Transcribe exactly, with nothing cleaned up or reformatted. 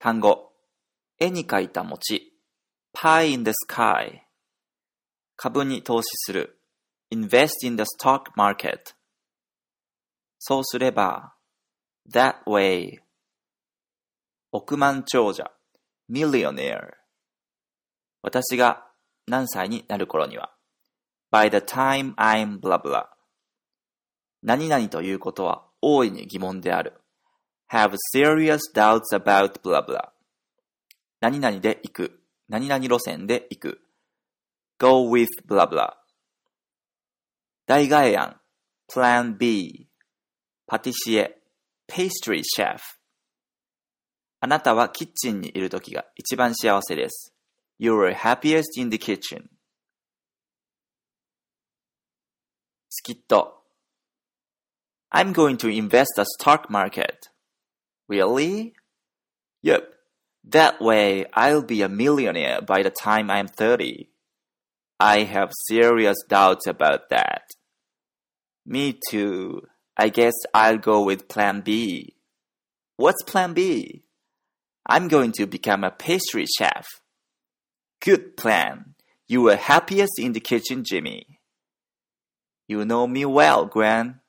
単語、絵に描いた餅、pie in the sky。株に投資する、invest in the stock market。そうすれば、that way。億万長者、millionaire。私が何歳になる頃には、by the time I'm blah blah。何々ということは大いに疑問である。have serious doubts about blah blah。何々で行く。何々路線で行く。go with blah blah。大概案。plan B。パティシエ。pastry chef。あなたはキッチンにいるときが一番幸せです。You're happiest in the kitchen。スキット。I'm going to invest the stock market. Really? Yep. That way, I'll be a millionaire by the time I'm thirty. I have serious doubts about that. Me too. I guess I'll go with plan B. What's plan B? I'm going to become a pastry chef. Good plan. You are happiest in the kitchen, Jimmy. You know me well, Gran.